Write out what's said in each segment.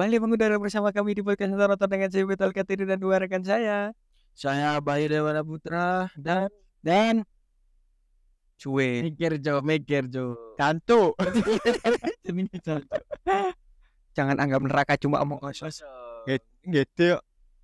Kembali mengudara bersama kami di podcast Nonton dengan saya Betul Katiri dan dua rekan saya. Saya Bayu Dewana Putra Dan cuy, mikir Jo. kantuk. Jangan anggap neraka cuma omong kosong. Gitu.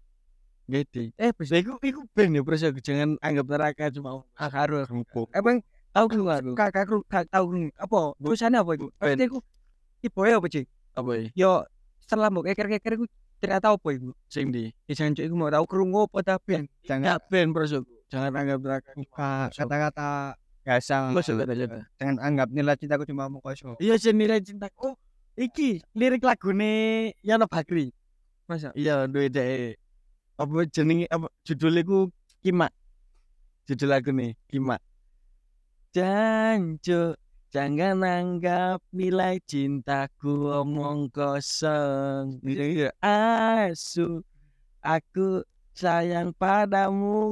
Iku ben ya proses jangan anggap neraka cuma Harus. empuk. Emang tahu kan kakak tahu apa? Tulisannya apa itu? Ben. Pasti aku tipe ya apa sih? Apa ya? Yo setelah mau keker-keker itu ternyata apa itu? Sing di. Jangan cuy, aku mau tahu kerungu apa tapi Jangan ben proses. Jangan anggap neraka. buka kata-kata biasa. Jangan anggap nilai cintaku cuma omong kosong. Iya senilai cinta. Oh, iki lirik lagune Yana Bakri. Masa? Iya, duwe dhek. Apa jenenge apa judulnya ku Kimak. Judul lagune Kimak. Jangan anggap nilai cintaku omong kosong. Iya, asu aku sayang padamu.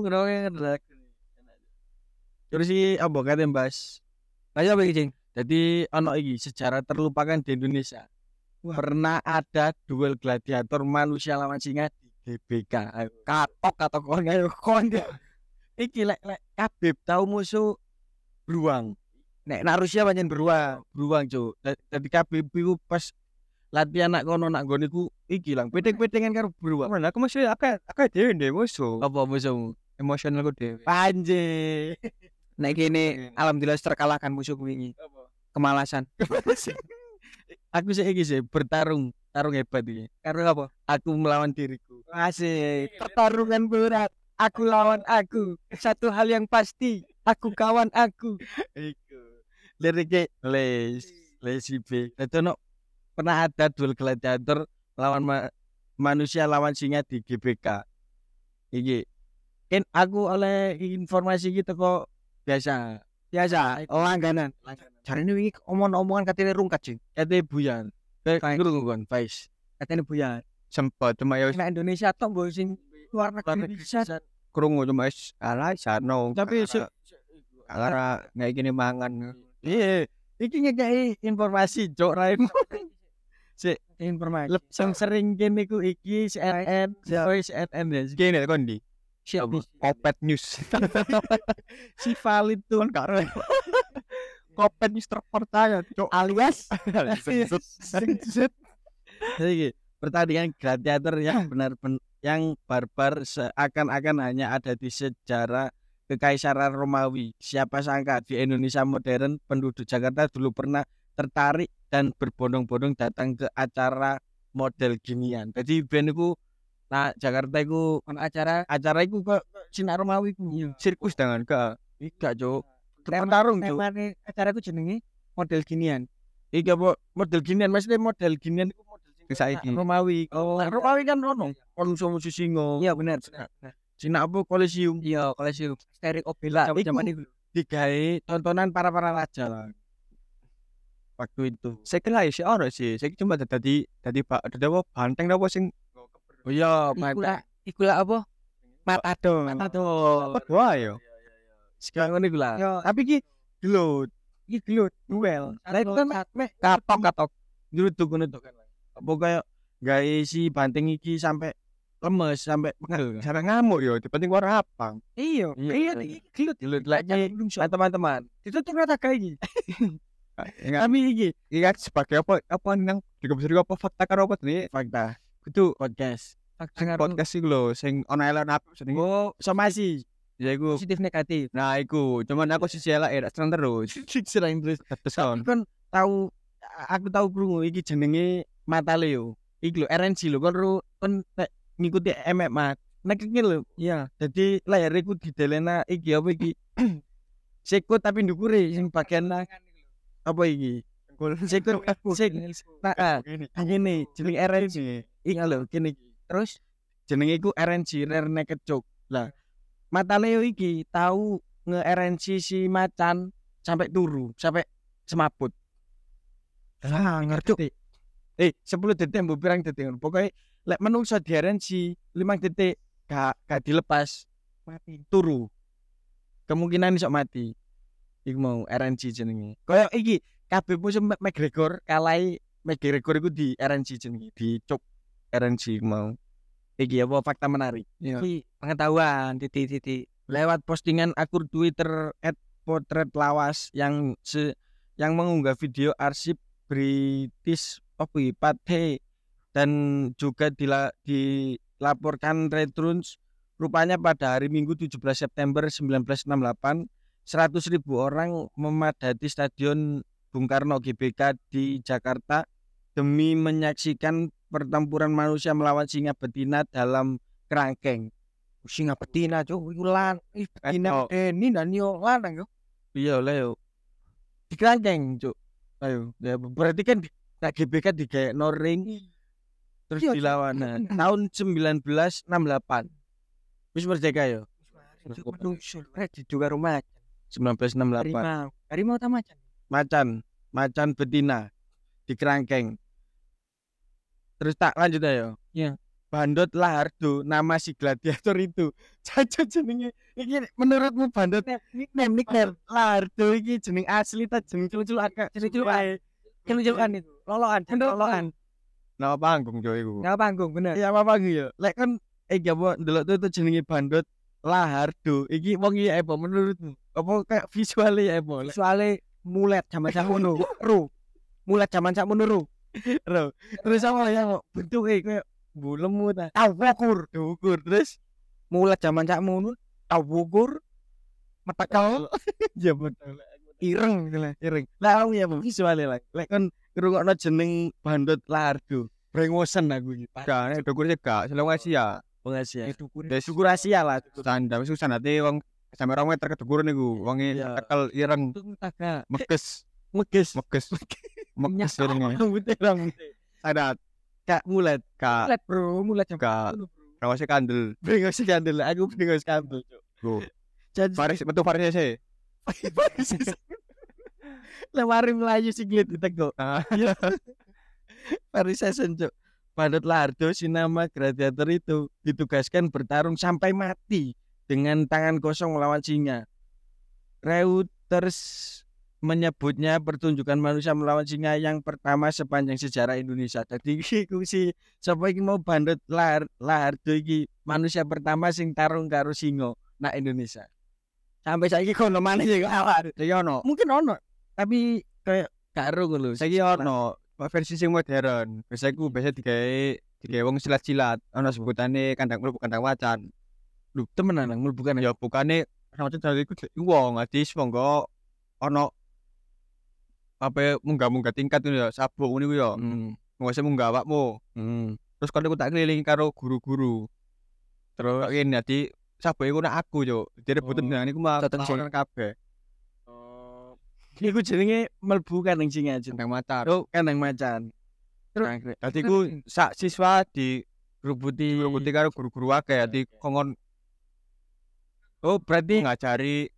Terus si apa kate Mbas? Ayo apa iki, Cing? Jadi ono iki sejarah terlupakan di Indonesia. Wah. Pernah ada duel gladiator manusia lawan singa di GBK. Katok kon. Iki lek Khabib tahu musuh beruang. Nek Rusia pancen beruang. Beruang, Cuk. Dadi Khabib iku pas latihan nak kono nak nggon iku iki lang peting-petingan karo beruang. Mana aku masih akeh dhewe ndek musuh. Apa musuhmu? Emosionalku dhewe. Panje. Nek kene alhamdulillah terkalahkan musuhku wingi. Apa? Kemalasan. Aku iki sih tarung hebat iki. Karo apa? Aku melawan diriku. Asik. Pertarungan berat. Aku lawan aku. Satu hal yang pasti, aku kawan aku. Iku. Liriknya Lazy B. Dadi ono pernah ada duel gladiator lawan manusia lawan singa di GBK. Iki. Kan aku oleh informasi gitu kok biasa. Langganan. Jarine wingi omong-omongan katene rungkat, Cing. Kate buyan. Kayak- Ngrungu kon, Faiz. Katene buyar. Sempat cuma ya Nek Indonesia tok mbok sing luar negeri bisa. krungu cuma wis ala sarno. Tapi Ala nggak gini mangan. Iya, iki ngekei informasi Cok Raimu. informasi. Sing sering kene iku iki CNN, CNN ya. Kene kon di. Siap nih. Kopet News. Si valid tuh kan karo. Kopet News terpercaya, Cok. Alias Jadi pertandingan gladiator yang benar-benar yang barbar seakan-akan hanya ada di sejarah Kekaisaran Romawi. Siapa sangka di Indonesia modern penduduk Jakarta dulu pernah tertarik dan berbondong-bondong datang ke acara model ginian. Jadi ben iku nah Jakarta iku ono acara acara iku kok Sinar Romawi ku sirkus dengan ke gak Cuk. Pertarung Cuk. temane acaraku jenenge model ginian. Iki apa model ginian maksudnya model ginian iku model sing Saiki. Romawi. Oh, Romawi kan ono musuh singa. Iya benar. Cina apa Kolosium Iya, Kolosium. Sterik Obela Iku. zaman itu. digawe tontonan para raja lah. Waktu itu. Saya kira sih ono sih. Saya cuma tadi Pak ada apa banteng apa sing Oh iya, Ikulah apa? Matador. Wah yo. Sekarang ini gula. Yo, Tapi ki gelut. iki gelut duel. Lah itu kan meh katok. Gelut tuh kan. Apa kayak gawe si banteng iki sampai lemes sampai pengel. Sampai ngamuk yo, penting war apa? Iya. Gelut lagi teman-teman. Itu ternyata kayak gini. Kami iki Iya sebagai apa nang juga apa fakta karo apa nih? fakta Itu podcast. podcast sih lho sing ono elon apa jenenge? Oh, somasi. Ya iku. Positif negatif. Nah, iku cuman aku sisi elek seneng terus. Sering terus Teson. kan aku tahu krungu iki jenenge Mata Leo. Iki lho RNC lho kon ngikuti MMA. Nek iki lho. Iya. Jadi layar iku didelena iki apa iki? Sikut tapi ndukure sing bagian apa iki? Sikut nah ngene jeneng RNC. Iki lho kene iki. Terus Jenenge iku RNC Rare Naked Joke. Lah Mata Leo iki tahu nge-RNC si macan sampai turu, sampai semaput. ngerti. 10 detik mbok pirang detik. Pokoke lek menungso di RNC 5 detik gak dilepas Mati. turu. Kemungkinan iso mati. Iku mau RNC jenenge. Kayak iki kabeh musuh McGregor kalai McGregor iku di RNC jenenge, di cok RNG mau. Iki apa fakta menarik. Iki pengetahuan titik-titik. Lewat postingan akun Twitter @potretlawas yang mengunggah video arsip British Pate dan juga dilaporkan Retrons rupanya pada hari Minggu 17 September 1968 100.000 orang memadati Stadion Bung Karno GBK di Jakarta demi menyaksikan pertempuran manusia melawan singa betina dalam kerangkeng. Singa betina cuk iku lan betina ini dan yo lanang yo. Iya lah yo. Di kerangkeng cuk. Ayo, ya berarti kan GBK digawe ring terus dilawan tahun 1968. Wis merdeka yo. Menungso rek juga rumah 1968. Harimau ta Macan betina di kerangkeng. Terus tak lanjut ayo. Iya. Bandot Lahardo nama si gladiator itu. Caca jenenge iki menurutmu Bandot nickname Lahardo iki jeneng asli ta jeneng celuk-celukan? Celuk-celukan itu. Lolokan. Nama panggung jo iku. Nama panggung bener. Iya nama panggung ya. Lek kan iki apa ndelok itu jenenge Bandot Lahardo. Iki wong iki apa menurutmu? Apa kayak visualnya apa? Visualnya mulet zaman sakmono. Mulet zaman sakmono. Terus apa ya bentuke kayak bulemu ta Wukur terus mulet zaman sakmono tau wukur metekal ya betul ireng gitu lah. Lah ya visualnya lah lek kan ngrungokno jeneng Bandot Lahardo brengosen aku iki Gak, dukurnya gak, selama Asia. pengasia Dukur syukur Asia lah Standar, wis sanate wong sampe 2 meter kedukur niku, wonge Iya. tekel ireng, taga meges meges irenge. rambutnya Sadat, gak mulet gak, mulet zaman gak, sakmono, bro. rawase kandel. brengos kandel aku brengos kandel cuk Go. jadi Betul variasi. lewari melayu siklet ditegok Parisesen cuk Bandot Lahardo si nama gladiator itu ditugaskan bertarung sampai mati dengan tangan kosong melawan singa. Reuters menyebutnya pertunjukan manusia melawan singa yang pertama sepanjang sejarah Indonesia. Jadi iku si sapa iki mau Bandot Lahardo iki manusia pertama sing tarung karo singa nak Indonesia. Sampai saiki kono maneh ya awak. Saiki ono, Mungkin ono tapi kayak karo ngono. saiki ono versi sing modern. Biasa digawe wong silat-silat, ono sebutane kandang mlebu kandang macan. Lho temenan nang bukan Ya bukane macam dari iku wong adis monggo ono apa munggah-munggah tingkat ngono ya, sabuk ngono iku ya. Ngose munggah awakmu. Terus kalau aku tak keliling karo guru-guru. Terus ini dadi saboke iku nak aku yo. Jadi rebutan dengan iku mah Dateng sing. orang kabeh. Iku jenenge mlebu kandang singa jeneng. Kandang macan. Oh, kandang macan. Dadi ku sak siswa Rubuti karo guru-guru akeh dadi kongon Oh, berarti ngajari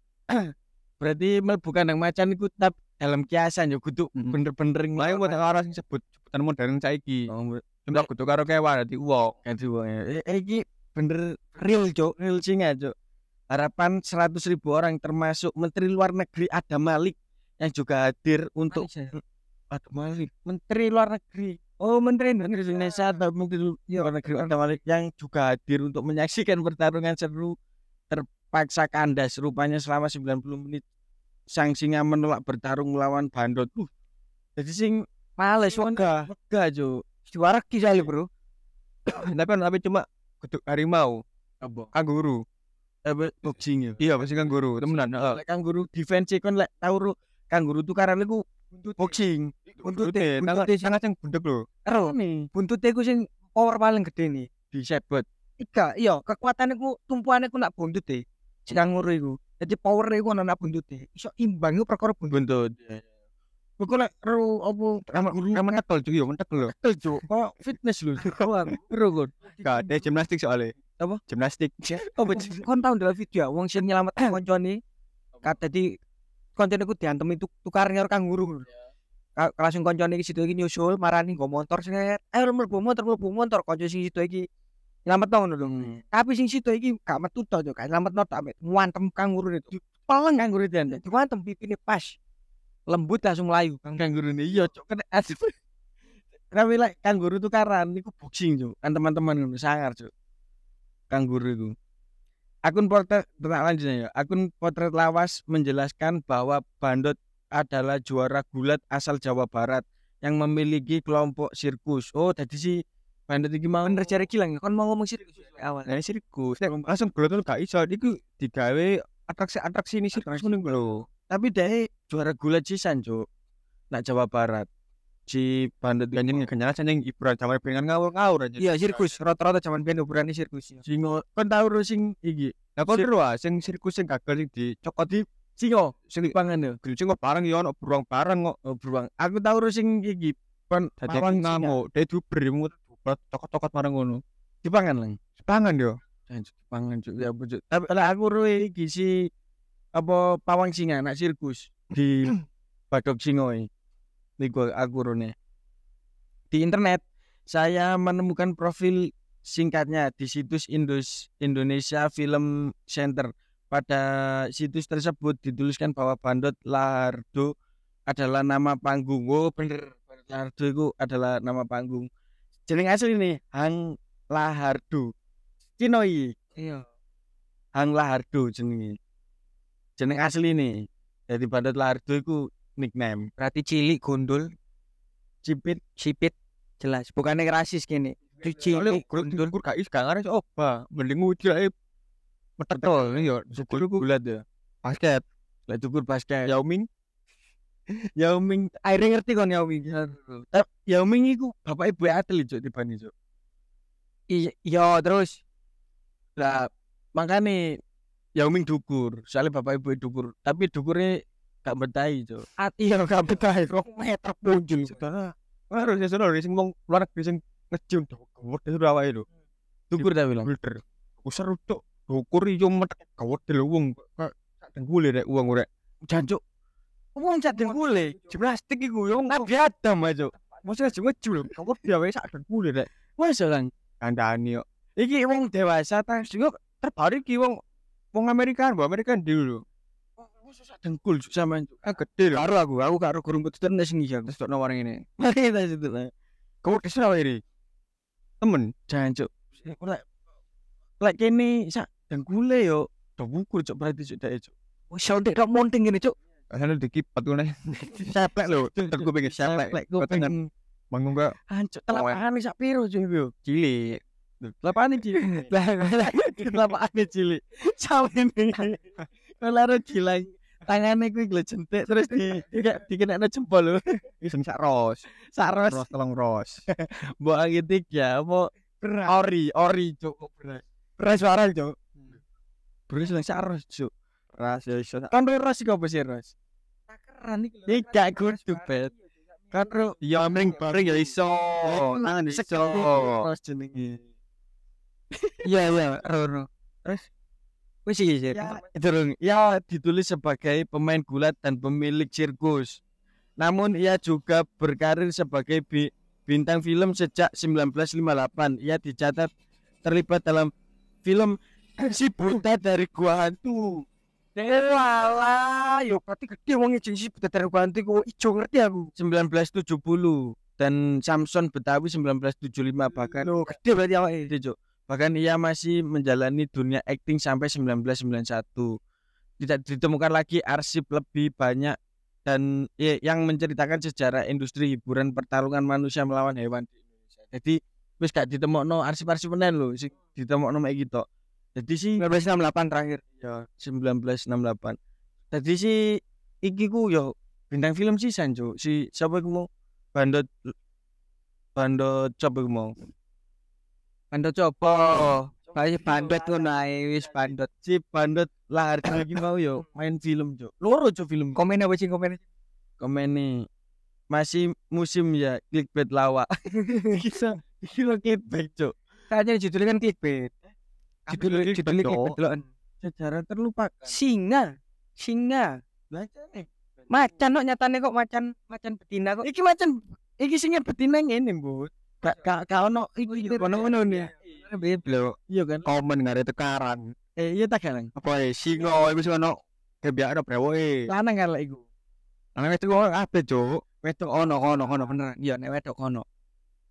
mlebu kandang macan iku tetap dalam kiasan yo kudu bener-bener lain buat karo sing sebutan modern saiki. Cuma kudu karo kewan dadi wong. Iki bener real cuk, real singa cuk. Harapan 100.000 orang termasuk Menteri Luar Negeri Adam Malik yang juga hadir untuk Adam Malik, Menteri Luar Negeri. Oh, Menteri Indonesia atau Menteri Luar Negeri Adam Malik yang juga hadir untuk menyaksikan pertarungan seru terpaksa kandas rupanya selama 90 menit. Sang singa menolak bertarung melawan Bandot. Jadi sing Males wegah. cuk. Juara kisah bro. Tapi cuma kudu harimau, Apa? kanguru. Boxing ya. Iya, pasti kanguru. Temenan, heeh. Lek kanguru defense kon lek tau kanguru tukaran iku boxing. Buntute, tangan sing bundek lho. Ero buntute ku sing power paling gede nih. Di setbot. Iya, kekuatane ku tumpuane ku nak buntute. Si kanguru iku. Jadi power iku ana nak buntute. Iso imbang iku perkara buntut. Buntut. Pokoknya ero apa Kamu nyekel juga, mentek lho. Cuk, kok fitness lho. Ero kon. Gak ada gimnastik soalnya. Apa? Gimnastik. kon tau ndelok video wong sing nyelamet koncone. Kata di koncone ku diantem itu tukar karo kanguru. Langsung koncone iki situ iki nyusul marani nggo motor set. Mlebu motor konco sing situ iki nyelametno ngono lho. Tapi sing situ iki gak metu to yo, gak nyelametno tok ngantem kanguru itu. Peleng kanguru itu. Diwantem pipine pas. Lembut langsung melayu Kanguru ini iya cuk kena asip. Tapi lek kanguru tukaran niku boxing, Cuk. Kan teman-teman ngono sangar, Cuk. Kanguru itu. Akun potret lanjutnya ya. Akun potret lawas menjelaskan bahwa bandot adalah juara gulat asal Jawa Barat yang memiliki kelompok sirkus. Oh, tadi si bandot iki mau Bener jare gilang kon mau ngomong sirkus awal. Nah, sirkus. Nek langsung glotol gak iso iku digawe atraksi ini sirkus ngono lho. tapi dia juara gulat sisan, Cuk. Nak Jawa Barat. Si bandot Ganjen kenyal seneng hiburan jaman pengen ngawur-ngawur aja. Iya sirkus, rata-rata zaman biyen ukurannya sirkus. singo kon tau ro sing iki. Lah kok seru ah sing sirkus sing gagal sing dicokot di Singo sing pangan yo. sing kok bareng yo ono beruang bareng kok. Oh, beruang. Aku tau ro sing iki. Kon Dadi pawang ngamuk, dia duber mut cokot-cokot bareng ngono. dipangan lang. Sepangan yo. Jangan dipangan, Cuk. Ya bojot. Tapi lah aku ro iki si apa pawang singa anak sirkus di Badok Singoi. Niku aku rone. Di internet saya menemukan profil singkatnya di situs Indonesia Film Center. Pada situs tersebut dituliskan bahwa Bandot Lahardo adalah nama panggung. Oh bener, Lahardo itu adalah nama panggung. Jeneng asli nih Hang Lahardo. Cinoi Iya. Hang Lahardo jenenge. Jeneng asli nih. Jadi Bandot Lahardo itu nickname. Berarti cilik gondol, Cipit sipit jelas. Bukannya rasis gini. Soalnya Cilik gondol gondol. kur gak is gak ngaris oba. Mending nguji ae. betul Yo, Syukur gulat ya. basket. Lah tukur basket. Yao Ming Yao Ming, Akhirnya ngerti kon ya Wi. Yao Ming iku bapak ibu atlet, Cuk, dibani, Cuk. Iya terus Lah makane Yao Ming dukur, soalnya bapak ibu dukur, tapi dukurnya gak betahi, Cuk. iya gak betah 2 meter punjul. harus ya sono sing wong luar negeri sing ngejun gawet itu awake lho. Dukur ta bilang. Builder. Usah rutuk. Ukur yo metek gawet lho wong sak dengkule rek wong rek. Jancuk. Wong sak dengkule, plastik iku yo Nabi Adam aja. Maksudnya sing ngejul gawet dia wae sak dengkule rek. Masa kan Kandhani yo. iki wong dewasa ta Sing terbaru iki wong Amerika dulu. masa sak dengkul Cuk, sampean, Cuk. Ah gede lho. Aku karo gurung putih tenan sing iki aku. Terus tok warung ini. Mari ta situ lah. Gawet kesel wae iki. Temen Jancuk. Lek kene sak dengkule yo do bukur, Cuk, berarti Cuk dae, Cuk. Wis ndek tok monting ngene, Cuk. asane dikipat ngene. Seplek lho. Terku pengen seplek. Seplek kuping. Bangun gak Hancur telapakane sak piro, Cuk, yo. cilik. Telapakane cilik. Lah telapakane cilik. Samene. Kalau cilik tangane kuwi glejentik terus dikenekno jempol lho. Iki sing sak ros. Sak ros. Ros telung ros. Mbok angitik ya apa ori Cuk, beras. Beras warang, Cuk. Beras lang sak ros, Cuk. Ras ya iso. Kan ros iki apa sih ros? Takeran iki lho. Iki gak kudu, Bet. Kan ro Ya mending bareng ya iso. Tangan iso. ros jenenge. Iya ro. Terus wis iki sih. Ya ditulis sebagai pemain gulat dan pemilik sirkus. Namun ia juga berkarir sebagai bintang film sejak 1958. Ia dicatat terlibat dalam film Si Buta dari Gua Hantu. Walah, yo berarti gede wong iki sih dari ganti ku ijo ngerti aku. 1970 dan Samson Betawi 1975 bahkan Loh, gede berarti awake. Gede, Cuk. Bahkan ia masih menjalani dunia akting sampai 1991. Tidak ditemukan lagi arsip lebih banyak dan yang menceritakan sejarah industri hiburan pertarungan manusia melawan hewan di Indonesia. Jadi wis gak ditemokno arsip-arsip menen lho, sing ditemokno mek iki tok. Jadi si 1968 terakhir. ya 1968. Jadi si iki ku yo bintang film sisan, Cuk. Si siapa iku mau Bandot coba iku mau. Bandot coba. Kayak bandot ngono ae wis bandot. Si Bandot Lahardo iki mau yo main film, Cuk. Loro, Cuk, film. Komen apa sih komen? Komene masih musim ya clickbait lawak. Bisa clickbait, Cuk. Kayaknya judulnya kan clickbait. Judulnya clickbait deloken. Sejarah terlupakan. Singa. Bacane. Macan kok nyatane kok macan betina kok. Iki macan iki sing betina ngene, Mbut. Gak ono iki Ngono-ngono nih. Lho, iya kan. komen ngare tekaran. Iya tak galang. Apa singo iku sing ono kebiasaan brewoke. Lanang kan lek iku. Ana wis kok kabeh, Cuk. Wedok ono bener. Iya nek wedok ono.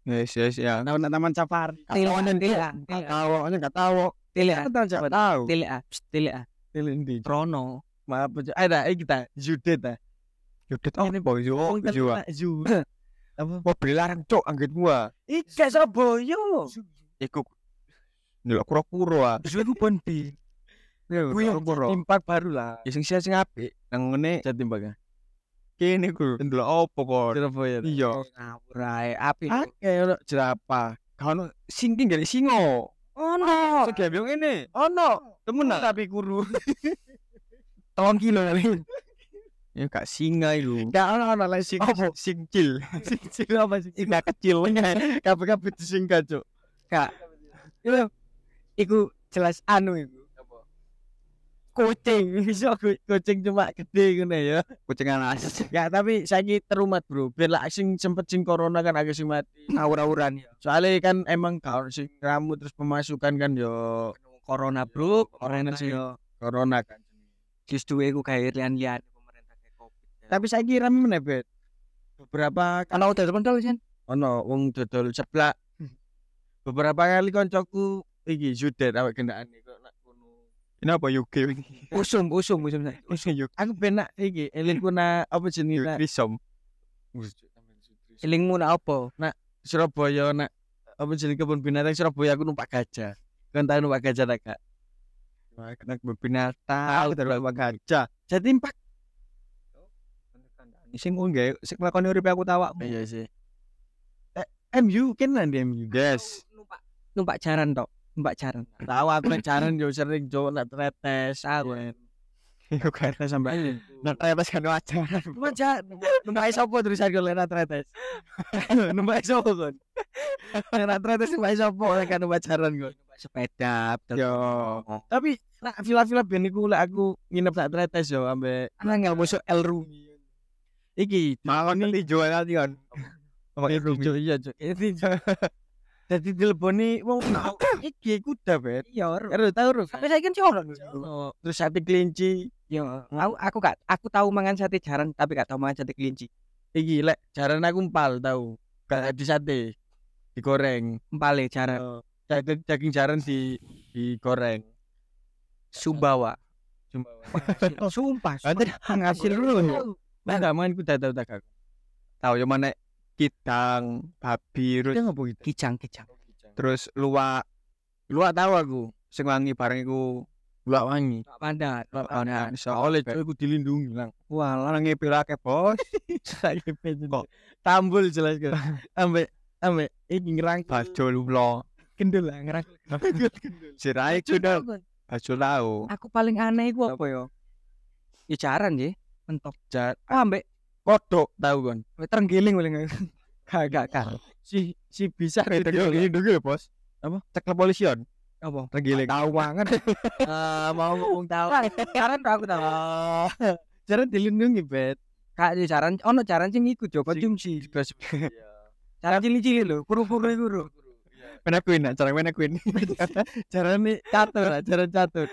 Yes ya. Taman safari. Tilean Tahu, enggak tahu. Tilean Enggak tahu. Tilean Tilindi. Rono Maaf, ada kita Judet ah. Yudet ini boy yo. Apa? Mobil larang cok anggit gua. Ika Saboyo. Iku ndelok kura-kura ah. Suwe ku pon bi Kura-kura. Impak baru lah. Ya sing apik nang ngene Jatimbang. kene ku ndelok opo kok. Surabaya. Iya. ngawur ae api Oke, ono jerapah. Kan sing tinggal singo. ono Segembyo ngene. Ono. Temen ah. Tapi kuru. 3 kilo kali Ya gak singa iku. Enggak ono lah sing Singcil. sing apa sih? Enggak kecil. Kabeh-kabeh disingkat, Cuk. gak iku jelas anu iku Kucing, iso kucing cuma gede ngene ya. Kucing alas. Ya tapi saiki terumat, Bro. Biar lah sing sempet sing corona kan agak sing mati. ngawur-ngawuran ya Soalnya kan emang gak ono sing ramu terus pemasukan kan yo corona bro corona sih. yo Corona kan. justru iku kayak lian-lian pemerintah kayak covid Tapi saiki rame meneh, Bet. Beberapa ana udah pentol kan ono wong dodol seblak. Beberapa kali koncoku iki judet awake gendaan kok nak kono. Ini apa UK ini? usum saya Usung UK. Aku penak iki elingku na apa jenenge nak Krisom. elingmu nak apa Surabaya nak apa jenenge kebun binatang Surabaya aku numpak gajah. Kan tau numpak gajah tak gak? Wah, kena binatang. Tahu numpak gajah. Jadi impak. Sing nggae sing lakone uripe aku tawak. Iya sih. MU kan nanti MU. Yes. numpak jaran tok numpak jaran Tahu aku nek jaran yo sering cowok nak tretes. Tahu. Yo kan Tretes sampai nah ternyata kan wajar. numpak sopo tulisan gue lena tretes. Numpak sopo kon. Lena tretes numpak sopo kan numpak jaran gue. numpak sepeda betul. Yo. Tapi nak villa-villa ben iku lek aku nginep sak tretes yo ambek angel musuh El Rumi iki Mau nanti jual nanti kan. pakai rujuk iya cuk. Jadi dileboni wong iki kuda bet. iya Karo tau ro. tapi saya kan orang Terus sate kelinci. yo aku tahu mangan sate jaran tapi gak tahu mangan sate kelinci Iki lek jaran aku empal tau. Gak di sate. Digoreng. empale jaran Daging jaran digoreng. Sumbawa Sumpah. Nanti ngasil dulu Enggak mangan kuda tau tak aku. tahu yo mana kidang, babi, terus Dia ngopo gitu. kicang terus luwak Luak tahu aku. sing wangi bareng iku Luak wangi. Pak Pandat ana iso Oleh cuy aku dilindungi lang. wah lanang ngepil akeh bos. Kok tambul jelas kan. Ambek iki ngerang Bajo lulo. kendel lah ngerang Sirai sudah bajo lau. aku paling aneh iku apa yo ya jaran ya mentok jar ambek kodok tahu kon. terenggiling paling gak Si bisa Dilindungi bos. Apa? Cek kepolisian. apa Tergiling. tahu banget Mau ngomong tahu. jaran aku tahu Jaran dilindungi bet. kak di jaran ono jaran sing iku jo konsumsi jaran cili-cili lho kuru-kuru iku lho Mana queen, cara mana queen. Jaran nih catur, jaran catur.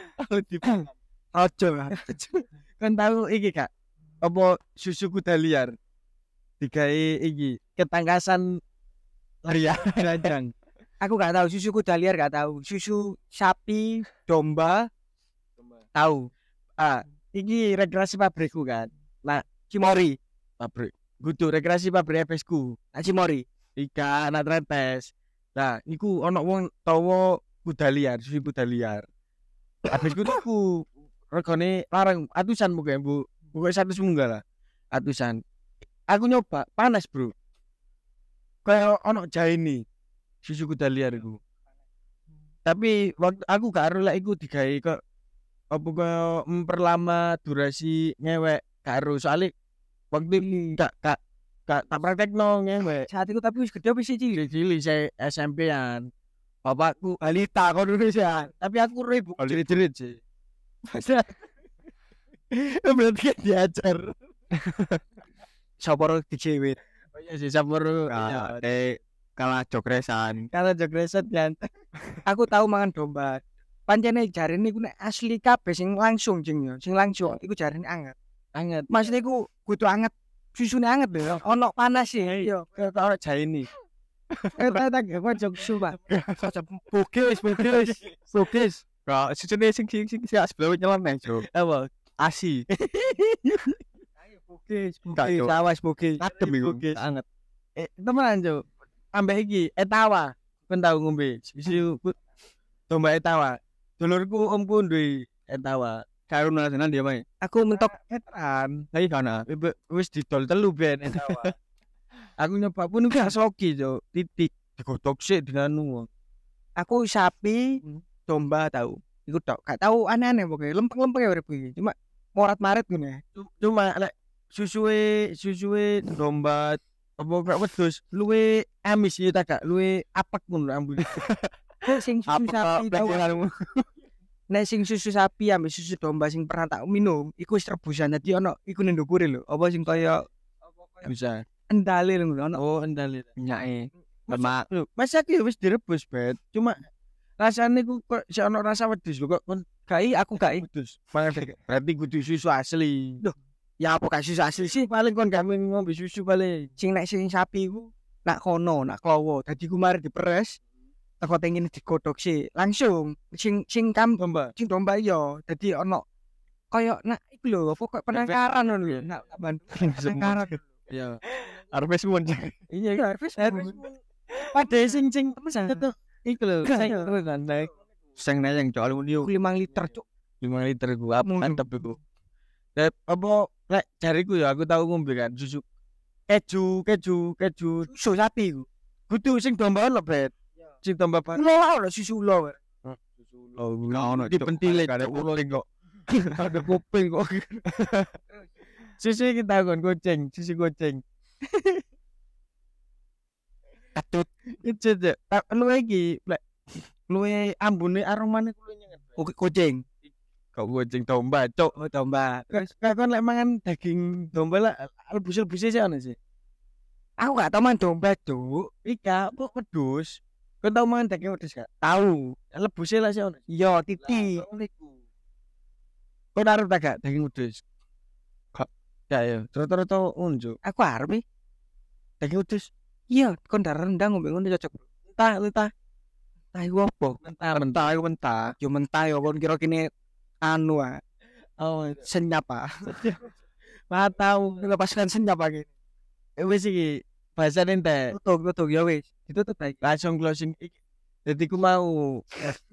ojo lah Kan tahu iki kak. Apa susu kuda liar? Digawe iki ketangkasan liar ranjang. aku gak tahu susu kuda liar gak tahu susu sapi domba tahu Iki rekreasi pabrikku kan. cimori Pabrik. Kudu rekreasi pabrik FSku. cimori Ikan anak tretes. Nah, niku ono wong tawa kuda liar, susu kuda liar. Habisku niku regane larang atusan muga Bu. Pokoke 100 munggah lah. Atusan. Aku nyoba panas, Bro. Kayak ono jahe nih. Susu kuda liar iku. Tapi waktu aku gak ero lek iku digawe kok apa kaya memperlama durasi ngewek gak ero soalnya waktu gak tak praktekno ngewek. saat itu tapi wis gede apa sih cilik Cilik saya SMP-an. Bapakku balita kok Indonesia. Tapi aku ribu jerit-jerit sih. Berarti kan diajar. sopor dijewit Oh iya sih sampur. Kalah jogresan. Kalau jogreset kan. aku tahu mangan domba pancene jarene iku nek asli kabeh sing langsung jeng yo sing langsung iku jarene anget Anget. maksudnya iku kudu anget susune anget lho ono panas sih yo Kayak ono jahe nih. Tak pojok sumpah. Bugis. Kok sisune sing sebelah nyeleneh, Cuk. Apa? Asi. Bugis. Enggak, Cuk. Awas bugis. Adem iku. Bugis. Banget. Temenan, Cuk. Ambek iki etawa. Kon tau ngombe susu domba etawa. Dulurku omku duwe etawa. Karo nasional dia main. Aku mentok Etan. Lagi kana. Wis didol telu ben etawa. Aku nyoba pun gak soki, Cuk. Titik digodhog sik dinanu. aku sapi, domba tahu. Iku tok. Gak tahu aneh-aneh pokoknya. Lempeng-lempeng ya urip iki. Cuma morat-marit ngono ya. Cuma lek susuwe domba apa gak wedhus luwe amis ya tak gak luwe apek ngono ambune. Sing susu sapi tahu. Nek sing susu sapi ambek susu domba sing pernah tak minum, iku wis rebusan. Dadi ono iku ning ndukure lho. Apa sing kaya Bisa. endale lho ono. Oh, endale. Nyake. Lemak. Masa ki wis direbus, Bet. Cuma rasane ku kok sik ono rasa wedhus lho kok kon Gai aku gai. wedhus. Berarti kudu susu asli. Loh, ya apa gak susu asli sih? Paling kon gak ngombe susu paling. Sing nek sing sapi ku nak kono, nak klowo. Dadi ku mari diperes. Teko tengene digodhog sih. Langsung sing Domba. sing domba iya. Dadi ono kaya nak iku lho, apa kok penangkaran ngono lho. Nak penangkaran. Ya. Arep suwun. Iya, harus Padahal sing tetep iku lho. Sing nayang Cuk aluminium 5 liter, Cuk. 5 liter ku apa Mulu. mantep iku. Apa lek jariku ya aku tahu ngombe kan susu keju Susu sapi ku. kudu sing domba lho Bet. Sing domba ban. Ulo lho susu ulo. Oh, ono Dipentile, ada Cuk. ulo kok. Ada kuping kok. Susu iki tahu kon kucing, susu kucing. Katut. Itu tak luwe iki lek luwe ambune aromane kuwi nyengat. Kucing. Kok kucing domba, Cuk. Oh, domba. Kayak kon lek mangan daging domba lah lebus-lebuse sih ono sih. Aku gak tau man domba, Cuk. Ika kok wedhus. Kon tau mangan daging wedhus gak? Tahu. Lebuse lah sih ono. Iya, titik. Kon arep tak gak daging wedhus? Gak. Ya ya, rata-rata unjuk. Aku arep nih. Daging wedhus. Iya, kon darah rendang ngombe ngono cocok. Entah. Tahu apa? Mentah iku mentah. Yo mentah yo kon kira kene anu ah. Oh, Senyap ah. matau. Lepaskan senyap lagi. Wis iki bahasane entek. Tutup ya wis. Ditutup lagi. Langsung closing iki. Jadi ku mau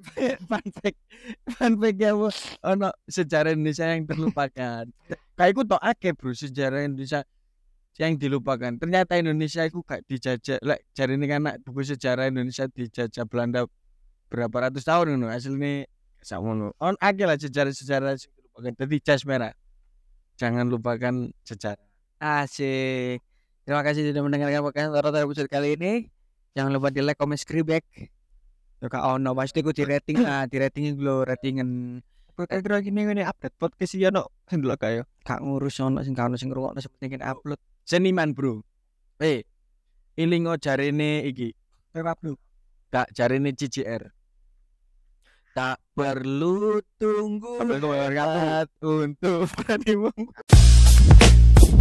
fun fact ya Bu. Ono sejarah Indonesia yang terlupakan. Kayak ku tok akeh bro sejarah Indonesia yang dilupakan. Ternyata Indonesia itu gak dijajah. Lek jarine kan anak buku sejarah Indonesia dijajah Belanda berapa ratus tahun ngono. Asline sakmono. On akeh lah sejarah-sejarah sing dilupakan. Dadi jas merah. Jangan lupakan sejarah. Asik. Terima kasih sudah mendengarkan podcast Rata episode kali ini. Jangan lupa di like, comment, subscribe. Yo kak ono pasti ku di rating di ratingin dulu ratingan. Kira-kira gini update podcast iki ono sing delok kae. Kak ngurus ono sing ngrungokno sepenting upload. Seniman bro. Ilingo jarene iki. Pepa bro. Gak jarene CCR. Tak perlu tunggu Sampai kau untuk berani